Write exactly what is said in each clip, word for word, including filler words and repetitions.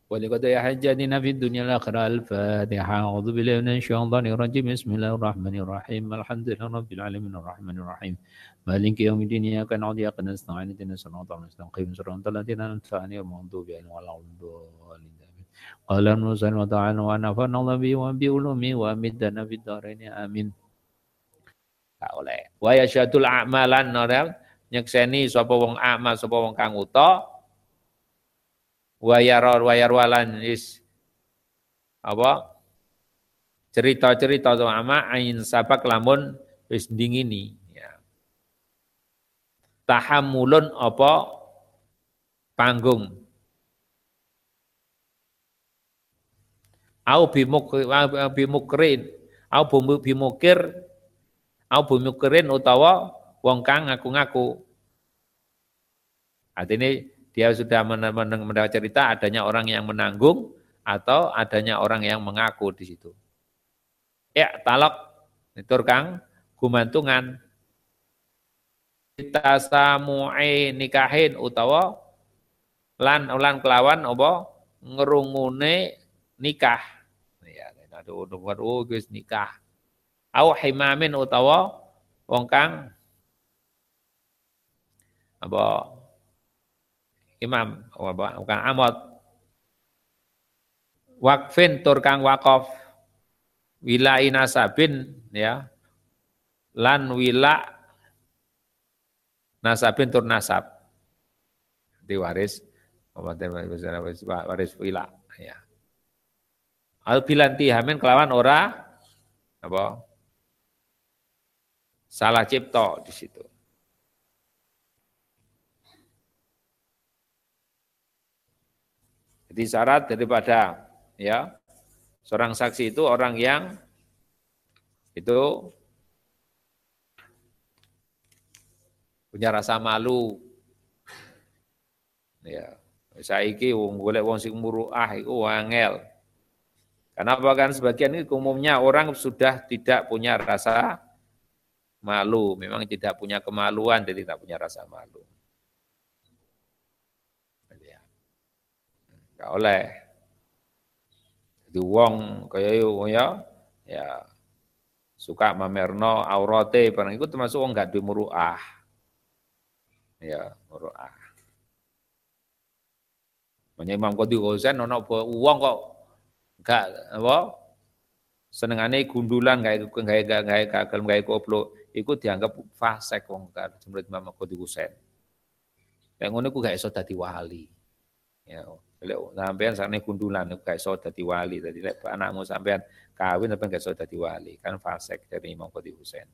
ولقد حجتنا في الدنيا الآخرة. الفاتحة. أعوذ بالله من الشيطان الرجيم. بسم الله الرحمن الرحيم. الحمد لله رب العالمين الرحمن الرحيم مالك يوم الدين. إياك نعبد وإياك نستعين اهدنا الصراط المستقيم صراط الذين أنعمت عليهم غير المغضوب عليهم ولا الضالين. قال المرسل وتعالى ونفعنا الله به وبعلومه وأمدنا في الدارين آمين. Tak oleh. Wa yasyadul a'malan ora nyekseni sapa wong amal sapa wong kang uta wa yaror wa yarwalan is apa cerita-cerita sama ain sabak lamun wis dingini ya. Tahammulun apa panggung au bimukrin au bimukir au bimukrin utawa wong kang ngaku-ngaku. Artinya dia sudah mendengar cerita adanya orang yang menanggung atau adanya orang yang mengaku di situ. Ya, talak itu kang gumantungan. Kita samu'i nikahin utawa lan lan kelawan apa ngerungune nikah. Ya, aduh aduh guys nikah. Au himamin utawa wong kang apa imam apa kang amot wakfin tur kang wakaf wilai nasabin ya lan wila nasabin tur nasab di waris waris wila ya al bilanti hamin kelawan ora apa salah cipta di situ. Jadi syarat daripada ya seorang saksi itu orang yang itu punya rasa malu. Ya, saiki wong golek wong sing muruah iku angel. Kenapa kan sebagian ini umumnya orang sudah tidak punya rasa malu, memang tidak punya kemaluan jadi tidak punya rasa malu. Enggak oleh. Jadi wong kaya ya ya suka mamerno aurate barang itu termasuk wong enggak duwe muruah. Ya, muruah. Makanya Imam Qadhi Husain ana wong kok enggak apa senengane gundulan gawe gawe gawe kagel gawe koplo iku dianggap fasik wong kan menurut Imam Qadhi Husain. Nek ngono iku gak iso dadi wali. Ya, lek sampean sakne gundulan iku gak iso dadi wali. Dadi lek anakmu sampean kawin sampean gak iso dadi wali, kan fasik dari Imam Qadhi Husain.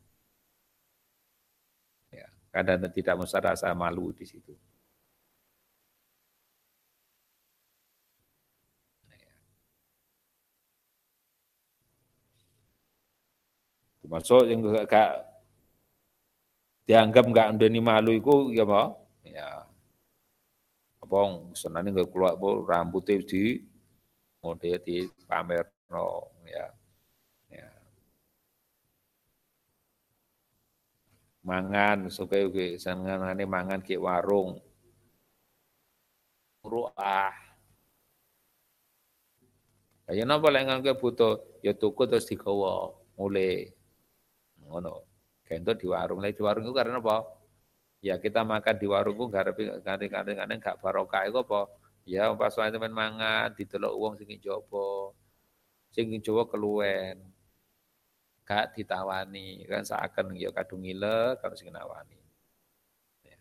Ya, kadang tidak mesti rasa malu di situ. Termasuk yang gak dianggap enggak ndeni malu iku ya apa? Ya. Apa senane enggak keluar rambutnya di model di pamerno ya. Ya. Mangan suka ugi senengane mangan ki warung. Ruah. Kaya napa lek nganggo butuh ya tuku terus digawa mulai ngono. Kento di warung, lek di warung itu karena apa? Ya kita makan di warung ku garepe kadang-kadang gak barokah iku apa? Ya pas wae temen mangan didelok wong sing njaba. Sing njaba keluwen. Gak ditawani, kan seakan ya kadung ngile kalau sing nawani. Ya.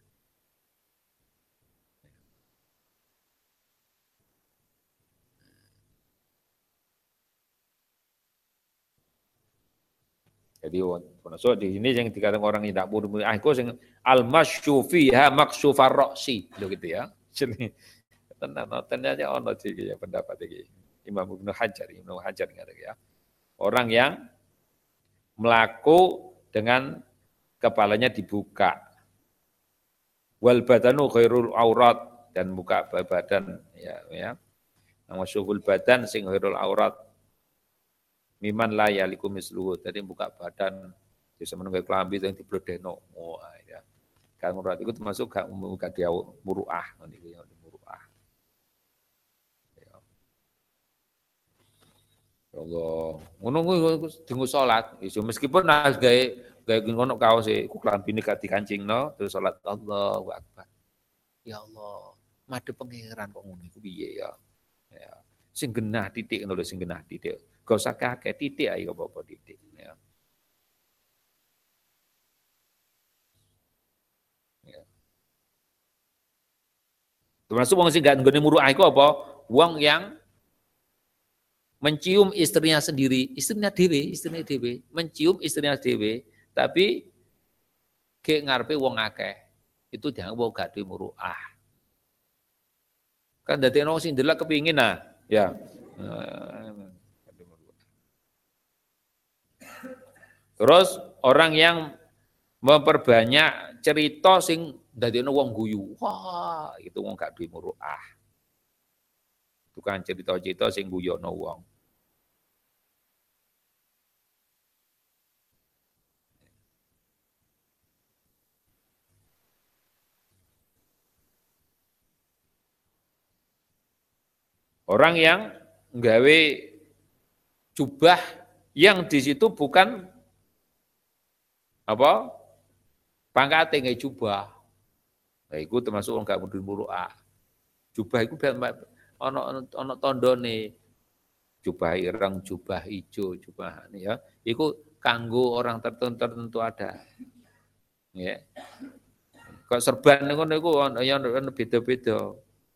Jadi so di sini yang dikatakan orang yang tidak buru ah itu sing al-masyu fiha maksufar ra'si lho gitu ya. Jadi tenan ternyata ono iki ya pendapat iki. Imam Ibnu Hajar, Ibnu Hajar ngene ya. Orang yang melaku dengan kepalanya dibuka. Wal badanu khairul aurat dan muka badan ya ya. Masyhul badan sing khairul aurat. Miman la yaliku misluhu, jadi buka badan bisa menunggu kelambi yang diblodeno. Oh ya. Kan murat itu termasuk gak muka dia muruah, niku ya muruah. Ya. Ya Allah, ngono kuwi dienggo salat, iso meskipun harus gawe gawe ngono kaos e, ku klambine gak dikancingno, terus salat Allahu Akbar. Ya Allah, madhep pangeran kok ngono iku piye ya? Ya. Sing genah titik ngono lho, sing genah titik. Gak usah kakek titik ae apa-apa titik ya. Ya. Termasuk wong sing gak nggone muruah iku apa? Wong yang mencium istrinya sendiri, istrinya dewe, istrinya dewe, mencium istrinya dewe, tapi ke ngarepe wong akeh. Itu jangan wong gak duwe muruah. Kan dadi ono sing ndelok kepingin nah, ya. Terus orang yang memperbanyak cerita sing dadekno wong guyu. Wah, itu wong gak duwe muruah. Tukang cerita-cerita sing guyono wong. Orang yang nggawe jubah yang di situ bukan apa? Pangkate nggawe jubah. Nah, itu termasuk wong gak duwe muruah. Jubah iku ana ana tandane. Jubah ireng, jubah ijo, jubah ya. Iku kanggo orang tertentu tertentu ada. Ya. Kok serban ngono iku ya beda-beda.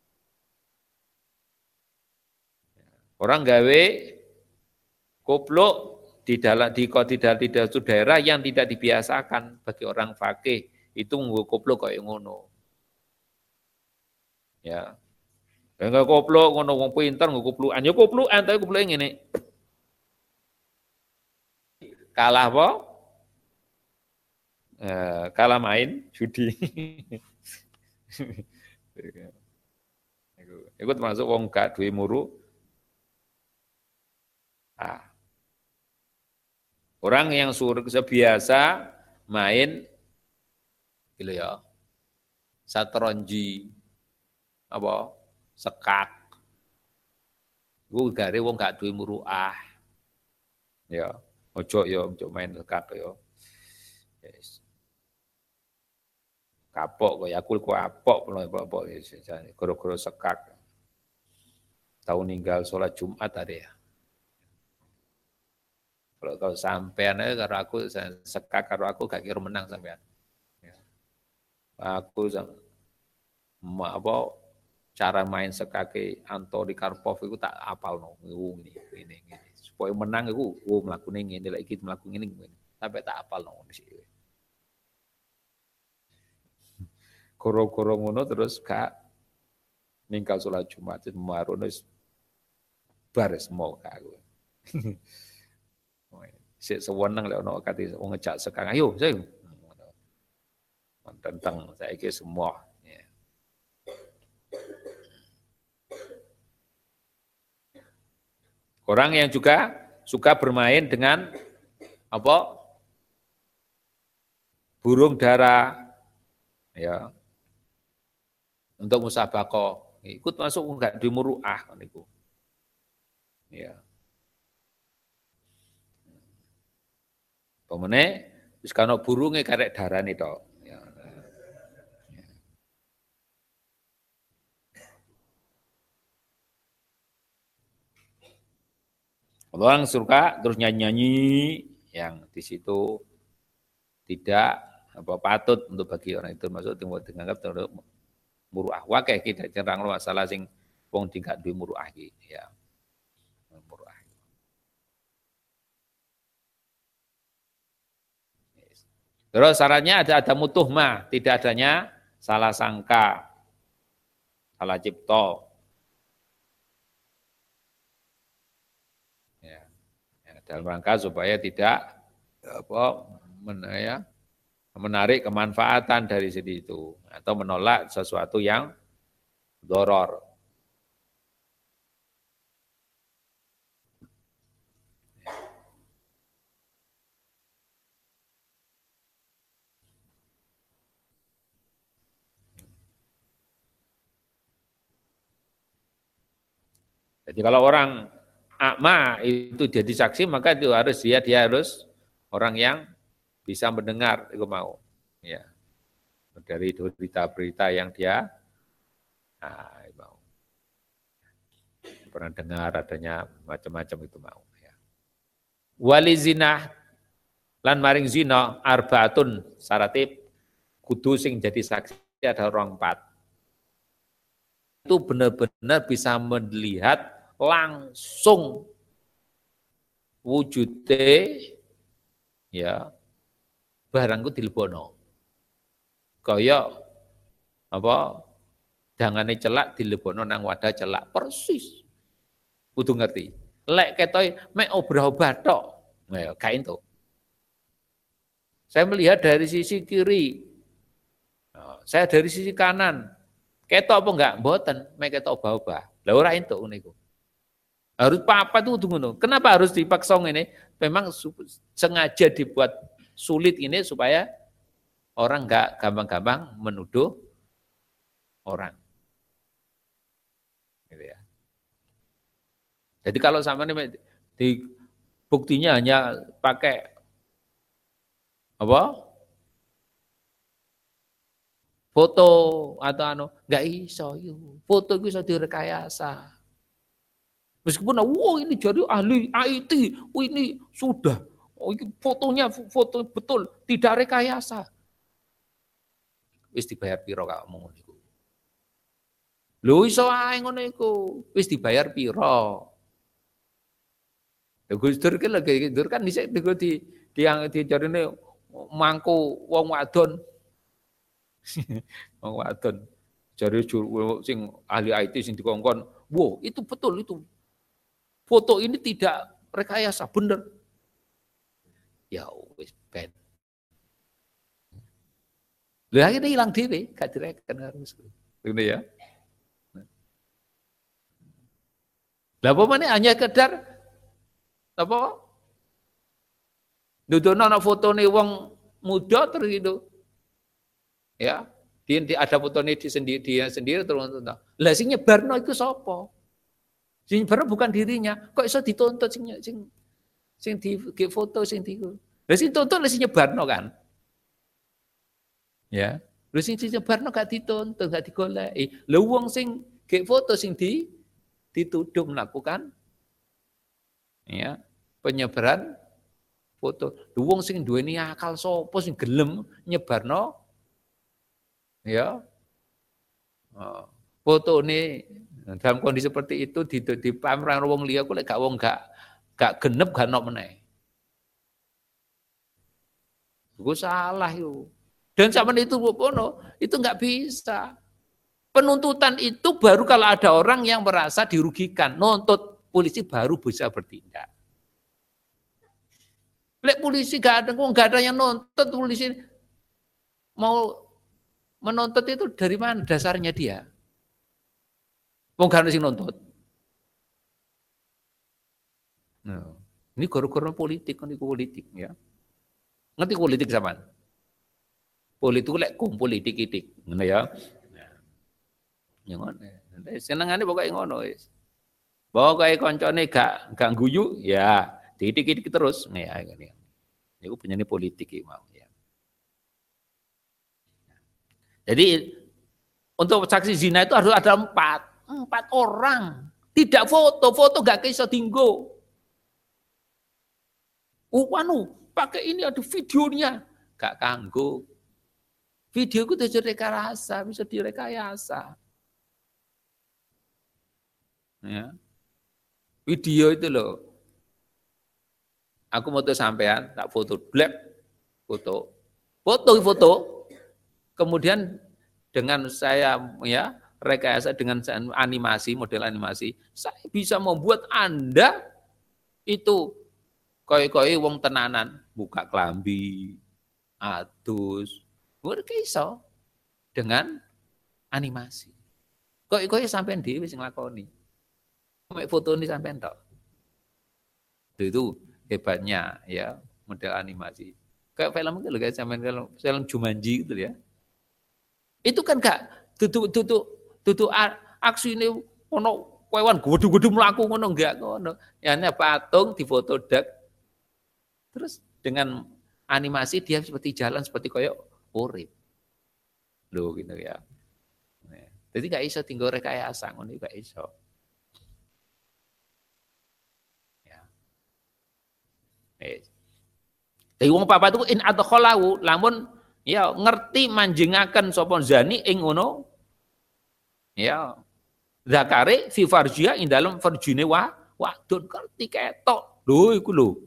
Orang gawe kopluk di dalam di di dalam di dalam daerah yang tidak dibiasakan bagi orang fakih itu nggo kopluk kaya ngono. Ya. Enggak kopluk ngono wong pinter nggo koplukan. Ya koplukan tapi kopluke ngene. Kalah apa? Eh, kalah main judi. Iku termasuk wong gak duwe muru. Ah. Orang yang suruh sebiasa main gitu ya. Satronji apa? Sekak. Iku gare wong gak duwe muruah. Ya, ojo ya ojo main sekak ya. Yes. Kapok kaya aku ku apok apa-apa goro-goro sekak. Tahu ninggal sholat Jumat tadi ya. Kalau kau sampean aja karo aku sekak karo aku gak kira menang sampean. Ya. Aku sama apa cara main sekake Antori Karpov itu tak apal no. Ini, ini, ini. Supaya menang itu, oh melakukan ini, lagi melakukan ini, sampai tak apal no. Koro-koro ngono terus gak ninggal sholat Jumat marun wis bares mau kak aku. Sik sewenang lek ono kate wong ngejak sekang ayo saya tentang saiki semua ya. Orang yang juga suka bermain dengan apa? Burung dara ya. Untuk musabaqah. Ikut masuk enggak di muruah niku. Ya. Pemene wis kana burunge karek darane tok. Ya. Orang suka terus nyanyi-nyanyi yang di situ tidak apa patut untuk bagi orang itu masuk dianggap terus muruah. Wakeh kita cerang masalah sing wong tingkat duwe muruah iki ya. Muruah. Terus syaratnya ada ada mutuhmah, tidak adanya salah sangka, salah cipta. Ya. Ya, dalam rangka supaya tidak apa ya, menarik kemanfaatan dari sini itu atau menolak sesuatu yang doror. Jadi kalau orang akma itu jadi saksi, maka itu harus dia dia harus orang yang bisa mendengar itu mau. Ya. Dari berita-berita yang dia nah, mau. Pernah dengar adanya macam-macam itu mau. Ya. Wali zina lan maring zina arbaatun syaratib kudu sing jadi saksi ada orang empat. Itu benar-benar bisa melihat langsung wujude ya barangku dilebono. Kaya apa dangane celak dilebono nang wadah celak persis. Kudu ngerti. Lek ketoy mek obrah-obrah tok. Nah, gak entuk. Saya melihat dari sisi kiri. Saya dari sisi kanan. Ketok apa enggak? Mboten, mek ketok obah-obah. Lah ora entuk niku. Harus apa tuh ngono. Kenapa harus dipaksa ini? Memang sengaja dibuat sulit ini supaya orang enggak gampang-gampang menuduh orang. Gitu ya. Jadi kalau sama ini di buktinya hanya pakai apa? Foto atau anu, enggak iso yo. Foto itu bisa direkayasa. Meskipun wow ini jadi ahli I T, oh, ini sudah oh, ini fotonya foto betul, tidak rekayasa. Wis dibayar piro kak ngono niku. Lho iso ae ngono iku, wis dibayar piro? Gus Dur kan lagi Dur kan dhisik di di yang dijarine mangku wong wadon. Wong wadon. Jare sing ahli I T sing dikongkon, "Wow, itu betul itu. Foto ini tidak rekayasa, bener." Ya wis ben. Lah akhirnya hilang dhewe, gak direken harus. Ngene ya. Lah apa meneh hanya sekedar apa? Nudono ana fotone wong muda terus itu. Ya, dia, dia ada fotone di sendiri dia sendiri terus nonton. Lah sing nyebarno iku sapa? Sing nyebarno bukan dirinya. Kok iso dituntut sing sing sing di foto sing di. Lah sing tuntut lah sing nyebarno kan. Ya. Lah sing nyebarno gak dituntut, gak digoleki. Lah wong sing ge foto sing di dituduh melakukan ya penyebaran foto. Wong sing duweni akal sapa sing gelem nyebarno ya oh, foto ini dalam kondisi seperti itu di di pameran wong liya kok lek gak wong gak gak genep gak ono meneh. Iku salah yo. Dan zaman itu Bono itu nggak bisa. Penuntutan itu baru kalau ada orang yang merasa dirugikan, nuntut polisi baru bisa bertindak. Lek polisi gak ada, nggak ada yang nuntut, polisi mau menuntut itu dari mana dasarnya dia? Wong gak ada sing nuntut. Nah, ini gara-gara politik, kan politik ya. Ngerti politik zaman? Politik lek kum politik itik, ngono ya. Ya ngono. Senengane pokoke ngono wis. Pokoke koncone gak gak guyu ya diitik-itik terus. Ya ngene. Niku penyanyi politik iki mau ya. Jadi untuk saksi zina itu harus ada empat, empat orang. Tidak foto, foto gak iso dinggo. Oh, anu, pakai ini ada videonya, gak kanggo. Video itu bisa direkayasa, bisa direkayasa. Ya. Video itu loh. Aku mau tuh sampean, tak foto, blek, foto, foto, foto. Kemudian dengan saya ya rekayasa dengan animasi, model animasi, saya bisa membuat Anda itu koi-koi wong tenanan, buka klambi, adus, iso dengan animasi. Koi-koi sampean dhewe sing nglakoni. Mek foto ini sampean tok. Itu hebatnya ya model animasi. Kayak film itu loh guys, sampean kalau film Jumanji gitu ya. Itu kan gak tutu tutu tutu aksi ini ono kewan gudu-gudu mlaku ngono enggak ngono. Ya hanya patung difoto dek. Terus dengan animasi dia seperti jalan seperti koyo urip. Loh gitu ya. Nah, jadi gak iso tinggal rekayasa ngono gak iso. Ya. Eh. Jadi wong papat itu in adkhalahu lamun ya ngerti manjingaken sapa zani ing ngono ya zakare fi farjia ing dalem farjine wa wadon ngerti ketok. Lho iku lho.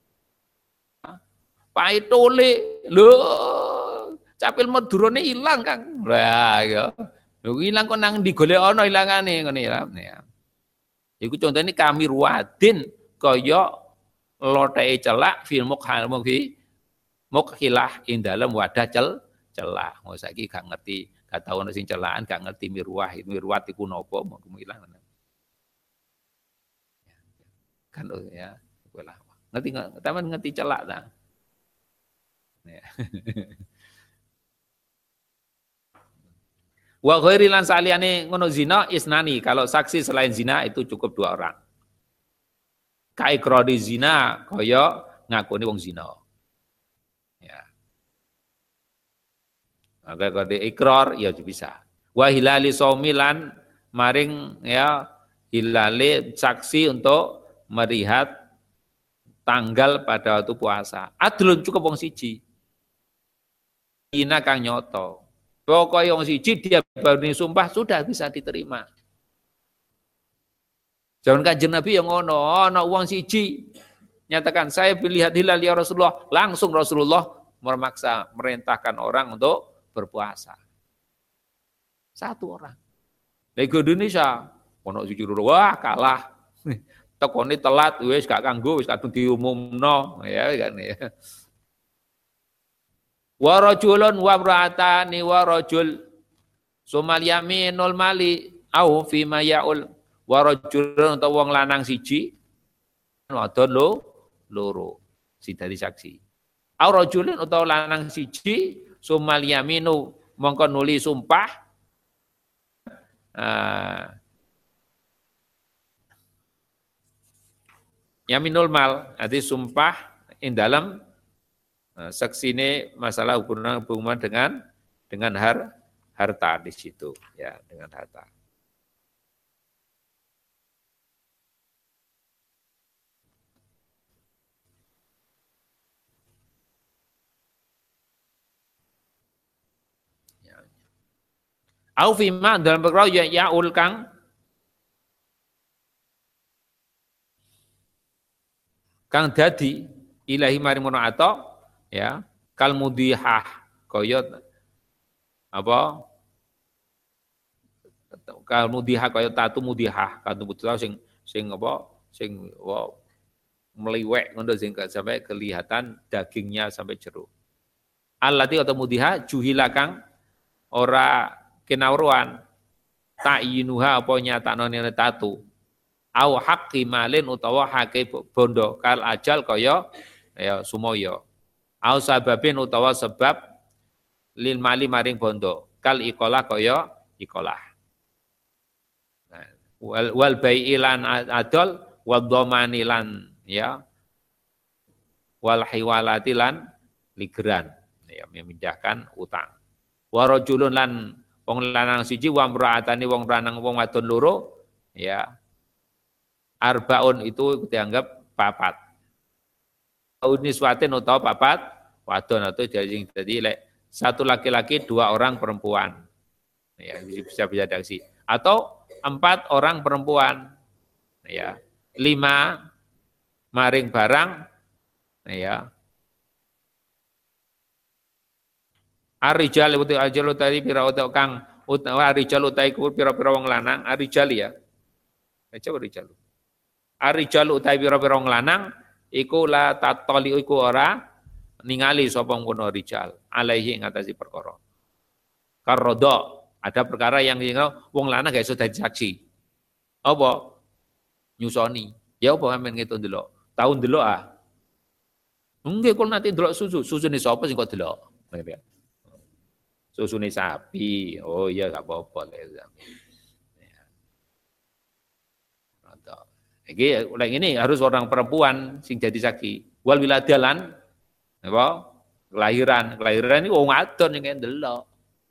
Paitole lho capil medurane ilang Kang. Lah ya. Lho ilang kok nang ndi golek ana ilangane ngene ya. Iku contone kami ruwadin kaya loteke celak fil mukhal mukhi mukhilah ing dalem wadah cel celak. Mau saiki gak ngerti, gak tau ana sing celakan, gak ngerti mirwah, mirwat iku napa mau ilang. Kan ya, lah. Ngerti enggak? Taman ngerti celak ta? Ya. Wa ghairi lan saliyane ngono zina isnani, kalau saksi selain zina itu cukup dua orang. Kai krodi zina kaya ngakoni wong zina. Ya. Maka kode ikrar ya bisa. Wa hilali saumilan maring ya hilale saksi untuk melihat tanggal pada waktu puasa. Adlun cukup wong siji. Ina kang nyoto. Pokoknya wong siji dia baru sumpah sudah bisa diterima. Jangan Kanjeng Nabi yang ngono, ana wong siji nyatakan saya melihat hilal ya Rasulullah, langsung Rasulullah memaksa merintahkan orang untuk berpuasa. Satu orang. Lagi Indonesia, ono siji wah kalah. Tekone telat wis gak kanggo wis kadung diumumno ya kan ya. Wa rajulun wa imra'atani wa rajul sumal yaminul mali au fi ma yaul wa rajulun utawa wong lanang siji wadon lo loro si dari saksi. Au rajulun utawa lanang siji sumal yaminu mongko nuli sumpah uh, yaminul mal arti sumpah ing dalam uh, saksine masalah hubungan hubungan dengan dengan har, harta di situ ya dengan harta. Au fima dalam perkara ya yaul kang kang dadi ilahi marimono ato ya kal mudihah kaya apa kal mudihah kaya tatu mudihah katu putra sing sing apa sing apa meliwek ngono sing sampai kelihatan dagingnya sampai jeruk. Allati atau mudihah juhila kang ora kinawruan ta'inuha apa nyatakno nene tatu au haqqi malin utawa hake bondo kal ajal kaya ya sumoyo au sababin utawa sebab lil mali maring bondo kal ikolah kaya ikolah nah, wal, wal bai'ilan adol wal dhamanilan ya wal hiwalatilan ligeran ya memindahkan utang wa rajulun lan wong lanang siji wa mraatani wong lanang wong wadon loro ya arbaun itu dianggap papat uniswatin utawa papat wadon atau jadi jadi lek satu laki-laki dua orang perempuan ya bisa bisa daksi atau empat orang perempuan ya lima maring barang ya arijal uti ajal utai pira uta kang utawa arijal utai pira-pira wong lanang arijal ya. Coba arijal. Arijal utai pira-pira wong lanang iku la tatoli iku ora ningali sapa ngono rijal alaihi ing atase perkara. Karodo ada perkara yang wong lanang gak iso dadi saksi. Apa? Nyusoni. Ya apa amen ngitung delok. Tahu delok ah. Nggih kok nanti delok susu, susune sapa sing kok delok. Susune sapi, oh iya gak apa-apa. Iki oleh ini harus orang perempuan sing jadi saksi. Wal wiladalan apa? Kelahiran, kelahiran ini wong wadon sing ndelok.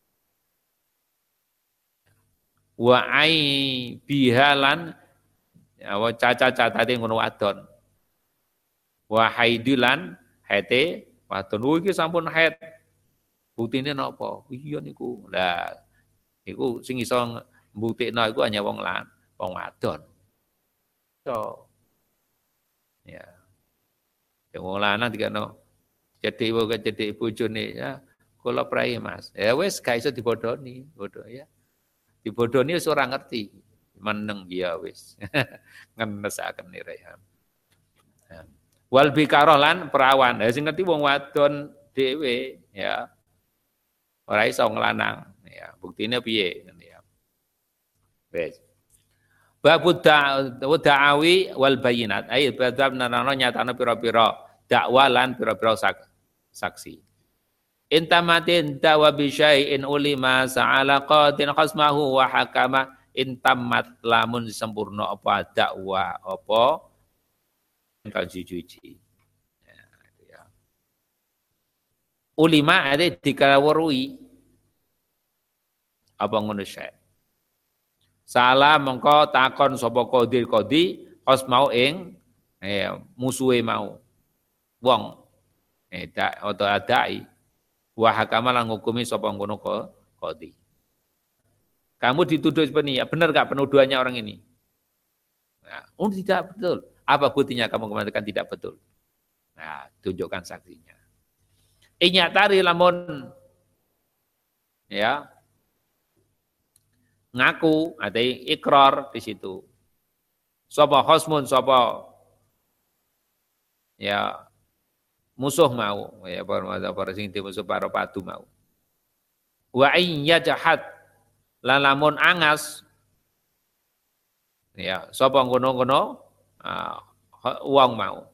Wa ai bihalan apa caca-cacate ngono wadon. Wa haidilan haite wadon. Oh iki sampun haid. Buktine napa? Iya niku. Lah iku sing iso mbuktikno iku hanya wong lan, wong wadon. So, ya, yang wong lanang dikano cedhek wae cedhek bojone ya, kula prai Mas. Ya wis gak iso dibodoni, bodoh ya. Dibodoni wis ora ngerti. Meneng ya wis. Ngenesaken rehan. Wal bikaroh lan perawan. Ya sing ngerti wong wadon dhewe ya. Ora iso nglanang ya. Buktine piye ya. Wis. Babud da'awi wal bayinat. Ayo bab nerangno nyatane pira-pira dakwa lan pira-pira saksi. Intamatin dawa bi syai'in ulima sa'ala qadin khasmahu wa hakama intamat lamun sempurna apa dakwa apa kang jujuji. Ya. Ulima ada dikawruhi apa ngono syai'. Salah mengko takon sapa qadir qadi kos mau ing eh, musuhe mau wong eh dak atau adai wa hakama lan ngukumi sapa ngono qadi. Kamu dituduh seperti ini, ya benar enggak penuduhannya orang ini? Nah, oh tidak betul. Apa buktinya kamu mengatakan tidak betul? Nah, tunjukkan saksinya. Inyatari lamun ya ngaku ada ikrar di situ. Sapa khosmun sapa ya musuh mau ya para sing musuh para padu mau. Wa ayya jahat lan lamun angas ya sapa ngono-ngono uh, wong mau.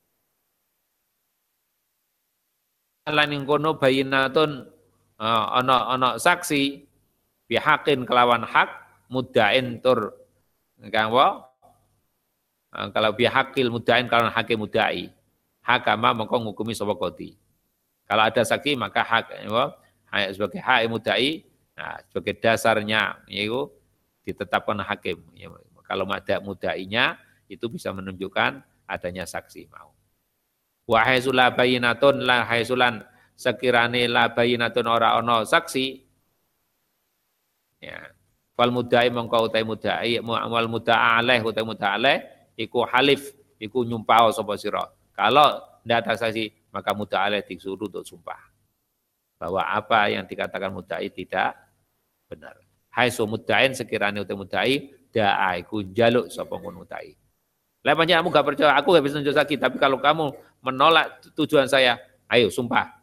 Lan ing kono bayinatun uh, ana ana saksi bihakin kelawan hak mudain tur kang wa kalau bihakil mudain kelawan hakim mudai hakama mengko ngukumi sapa qadi. Kalau ada saksi maka hak wa sebagai hak mudai, nah sebagai dasarnya yaitu ditetapkan hakim. Ya, kalau ada mudainya itu bisa menunjukkan adanya saksi mau. Wa haizula bayinatun la haizulan sekirane la bayinatun ora ana saksi ya fal mudai mongko utai mudai wal mudaa alaih utai mudaa alaih iku halif iku nyumpah sapa sira. Kalau tidak ada saksi maka mudaa alaih disuruh untuk sumpah bahwa apa yang dikatakan mudai tidak benar. Hai so mudain sekiranya utai mudai daa iku jaluk sapa ngono mudai. Lah pancen kamu gak percaya aku gak bisa nunjuk saksi, tapi kalau kamu menolak tujuan saya ayo sumpah.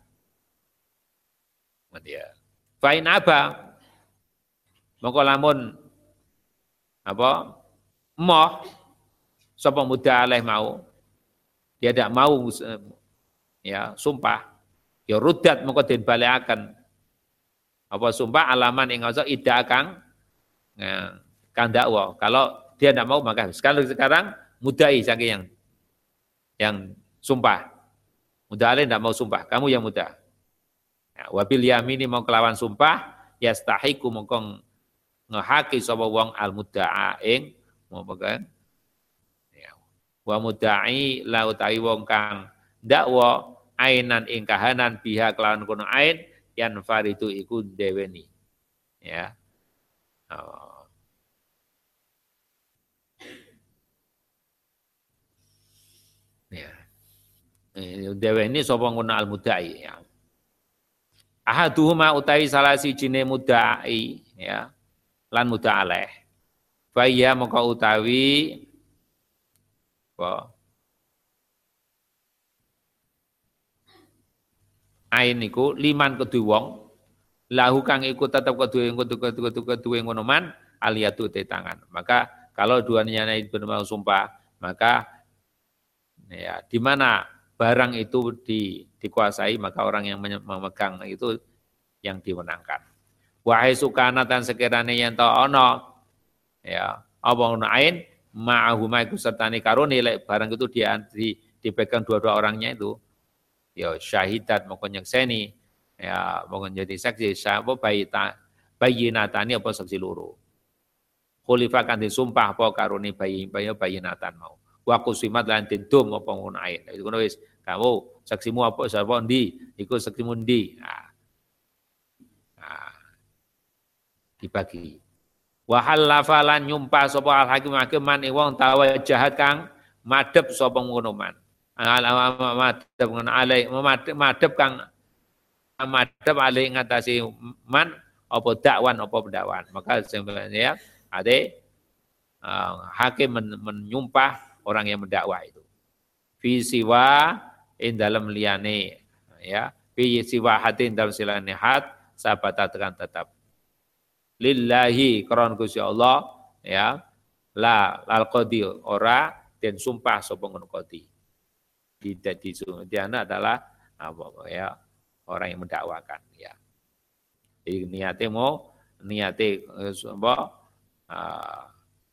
Dia fa'in aba mongko lamun apa moh sapa muda alaih mau dia tidak mau ya sumpah ya rudat mongko den balekaken apa sumpah alaman ing ngoso ida kang ya, kang dakwa. Kalau dia tidak mau maka sekarang sekarang mudai saking yang yang sumpah muda alaih tidak mau sumpah kamu yang muda ya, wabil yamini mau kelawan sumpah yastahiku mongko ngehaki sapa wong al mudda'a ing mau pegang ya wa mudda'i la utawi wong kang dakwa ainan ing kahanan biha kelawan kono ain yan faridu iku deweni ya oh. Ya deweni sapa ngono al mudda'i ya ahaduhuma utawi salah sijine mudda'i ya lan muda alaih. Faya maka utawi apa? Ain iku liman kedue wong lahu kang iku tetep kedue kedue kedue ngono man aliyatu te tangan. Maka kalau duanya itu benar sumpah, maka ya di mana barang itu di, dikuasai maka orang yang memegang itu yang dimenangkan. Wahai sukana tan sekirane yen ta ana ya apa ngono ain ma'ahuma iku sertane karone lek barang itu di, di dipegang dua-dua orangnya itu ya syahidat moko nyekseni ya moko jadi saksi sapa bayi ta bayinatani apa saksi loro khulifa kan disumpah apa karone bayi bayi bayinatan mau wa kusimat lan dendum apa ngono ae itu ngono wis kamu saksimu apa sapa ndi iku saksimu ndi nah, nah dibagi wa halafa lan nyumpah sapa al hakim hakim man wong tawajahat kang madhep sapa ngono man madhep ngono alai madhep kang madhep alai ngatasi man apa dakwan apa pendakwan maka sebenarnya ada uh, hakim men, menyumpah orang yang mendakwa itu fi siwa in dalam liyane ya fi siwa hatin dalam silane hat sahabat tekan tetap lillahi karon Gusti Allah ya la lal qadi ora den sumpah sapa ngono qadi tidak disuruh dia adalah apa ya orang yang mendakwakan ya jadi niate mau niate apa Uh,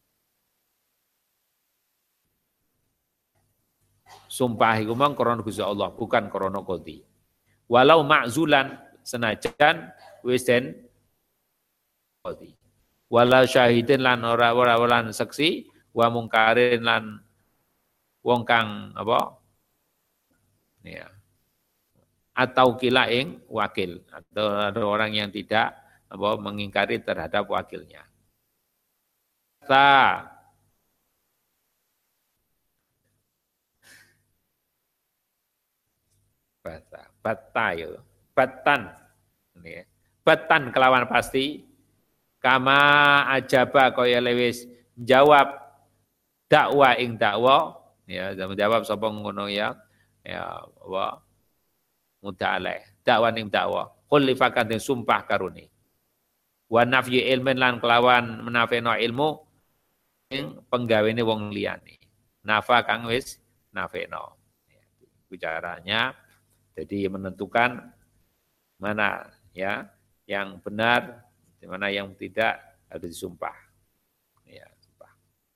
sumpah iku mang krana Gusti Allah bukan krana qadhi walau ma'zulan senajan wis den qadhi wala syahidin lan ora ora lan saksi wa mungkarin lan wong kang apa ya atau kila ing wakil atau ada orang yang tidak apa mengingkari terhadap wakilnya ta bata bata ya batan ini batan kelawan pasti kama ajaba kaya lewis jawab dakwa ing dakwa ya menjawab sapa ngono ya ya wa mudaleh dakwa ing dakwa khulifakan sumpah karuni wa nafyi ilmin lan kelawan menafeno ilmu ing penggawene wong liyane. Nafa kang wis nafeno. Bicaranya jadi menentukan mana ya yang benar, mana yang tidak harus disumpah. Ya, sumpah.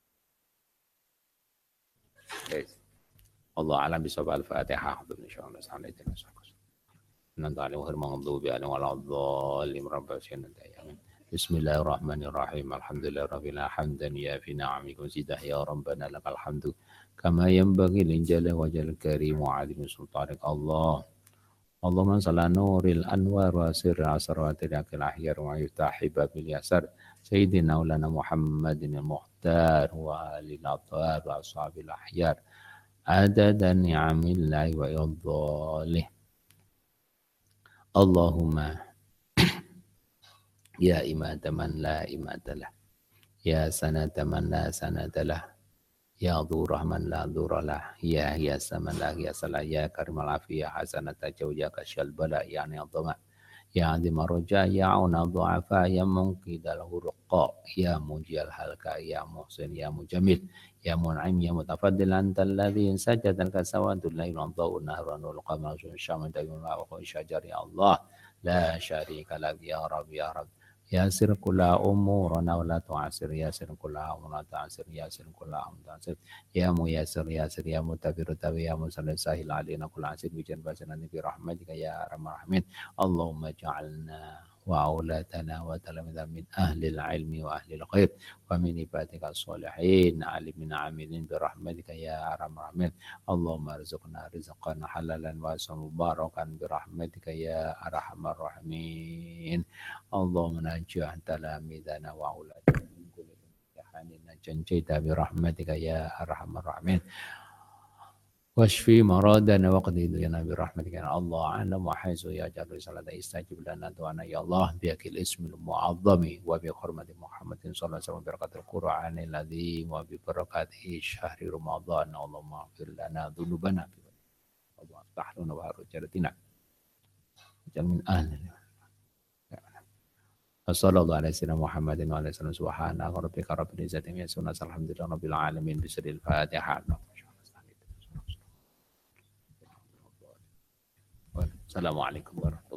Yes. Allah alam bisawab al-Fatihah. Insyaallah sallallahu alaihi wasallam. Nanti alim maghdubi alaihim waladhdallin rabbana amin. Bismillahirrahmanirrahim. Alhamdulillahirabbil hamdan ya fi ni'amikum zidah ya rabbana lakal hamdu kama yanbaghi lil jalali wajhil karim wa 'azimi sultanik Allah. Allahumma shalli nuril anwar wa sirri asratil akil ahyar wa yuftahi babil yasar sayyidina ulana Muhammadin al-muhtar wa alil athar wa ashabil ahyar adada ni'amillahi wa idhalih. Allahumma ya imata man la imata lah, ya sanata man la sanata lah, ya dhurah man la dhurah lah, ya hiyasa man la hiyasa lah, ya karimal afiyah hasanata jawjaka syalbala ya ni'adhama, ya azimah roja, ya auna dhu'afa, ya munqidal hurqa, ya mujiyal halka, ya muhsin, ya mujamil, ya mun'im, ya mutafaddil antal ladhi sajadal kasawadul laylun dhawun nahranul qamar syaman dayun wa'uhu syajar ya Allah la syarika lak ya Rabbi ya Rabbi Yasir kula umurana wa la tu'asir yasir kula umurana ta'asir yasir kula umurana ta'asir ya mu yasir yasir ya mutabiru tabi ya musallim sahil alina kula asir bijan basanani bi rahmatika ya arhamar rahimin Allahumma ja'alna wa aulatana wa talamidha min ahli al-ilmi wa ahli al-khair wa min ibadika as-salihin alimin amilin bi rahmatika ya arhamar rahimin Allahumma rizqna rizqan halalan wa mubarakan bi rahmatika ya arhamar rahimin Allahumma najah talamidana wa aulatana min kulli imtihanin najjayta bi rahmatika ya arhamar rahimin washfi maradana wa qdi lana bi rahmatika ya Allah ana wa haizu ya jallu salata istajib lana du'ana ya Allah bi akil ismil mu'azzami wa bi hurmati Muhammadin sallallahu alaihi wasallam barakatul Qur'anil azim wa bi barakati syahri Ramadan Allahumma ighfir lana dzunubana wa aftah lana wa harujaratina jamin ahli Sallallahu alaihi wasallam Muhammadin wa alaihi wasallam subhana rabbika rabbil izzati amma yasifun alhamdulillahi rabbil alamin bismillahil fatihah Assalamualaikum warahmatullahi wabarakatuh.